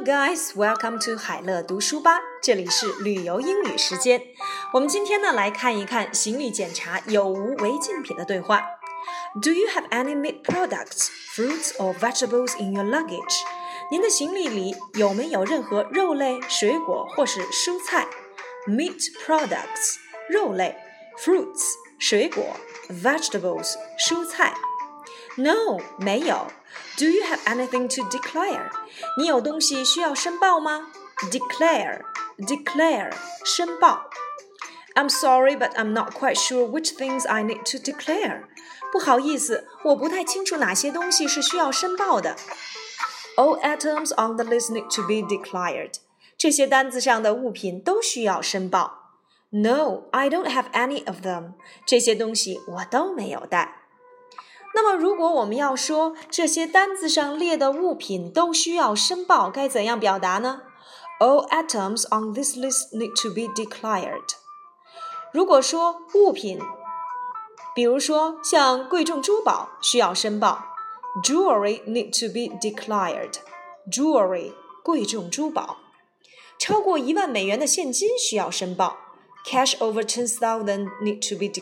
guys, welcome to 海乐读书吧，这里是旅游英语时间。我们今天呢来看一看行李检查有无违禁品的对话。Do you have any meat products, fruits or vegetables in your luggage? 您的行李里有没有任何肉类、水果或是蔬菜 ？Meat products 肉类 ，fruits 水果 ，vegetables 蔬菜。No, 没有。Do you have anything to declare? 你有东西需要申报吗 ？Declare, 申报。I'm sorry, but I'm not quite sure which things I need to declare. 不好意思，我不太清楚哪些东西是需要申报的。All items on the list need to be declared. 这些单子上的物品都需要申报。No, I don't have any of them. 这些东西我都没有带。那么如果我们要说这些单子上列的物品都需要申报，该怎样表达呢？ All items on this list need to be declared. 如果说物品，比如说像贵重珠宝需要申报 Jewelry need to be declared. Jewelry 贵重珠宝。超过1万美元的现金需要申报 Cash over 10,000 need to be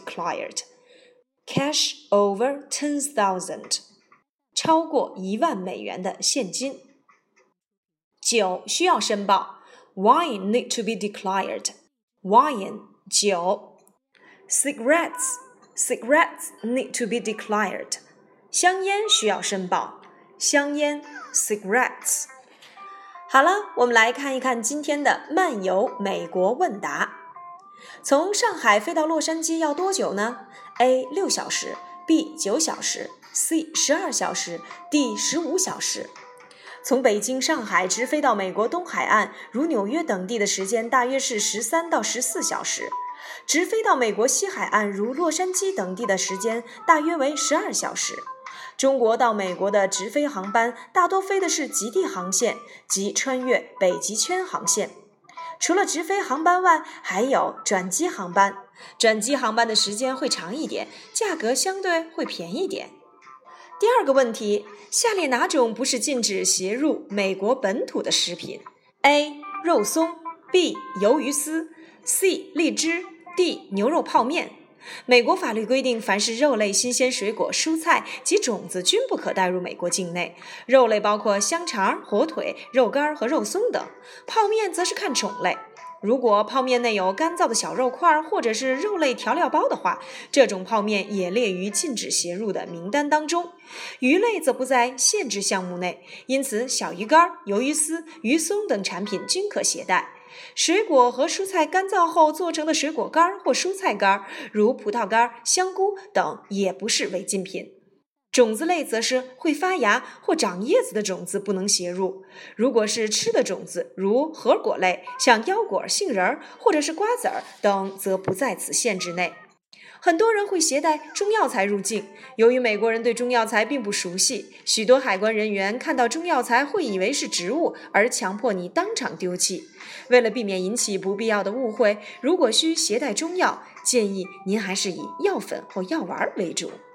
declared.Cash over 10,000 超过1万美元的现金。酒需要申报 Wine need to be declared. Wine 酒。Cigarettes need to be declared. 香烟需要申报香烟 cigarettes。 好了，我们来看一看今天的漫游美国问答。从上海飞到洛杉矶要多久呢？ A 6小时 B 9小时 C 12小时 D 15小时。从北京、上海直飞到美国东海岸，如纽约等地的时间大约是13到14小时。直飞到美国西海岸，如洛杉矶等地的时间大约为12小时。中国到美国的直飞航班大多飞的是极地航线及穿越北极圈航线。除了直飞航班外，还有转机航班。转机航班的时间会长一点，价格相对会便宜点。第二个问题，下列哪种不是禁止携入美国本土的食品 ？A. 肉松 B. 鱿鱼丝 C. 荔枝 D. 牛肉泡面。美国法律规定，凡是肉类、新鲜水果、蔬菜及种子均不可带入美国境内。肉类包括香肠、火腿、肉干和肉松等，泡面则是看种类。如果泡面内有干燥的小肉块或者是肉类调料包的话，这种泡面也列于禁止携入的名单当中。鱼类则不在限制项目内，因此小鱼干、鱿鱼丝、鱼松等产品均可携带。水果和蔬菜干燥后做成的水果干或蔬菜干，如葡萄干、香菇等，也不是违禁品。种子类则是会发芽或长叶子的种子不能携入。如果是吃的种子，如核果类，像腰果、杏仁或者是瓜子等，则不在此限制内。很多人会携带中药材入境，由于美国人对中药材并不熟悉，许多海关人员看到中药材会以为是植物，而强迫你当场丢弃。为了避免引起不必要的误会，如果需携带中药，建议您还是以药粉或药丸为主。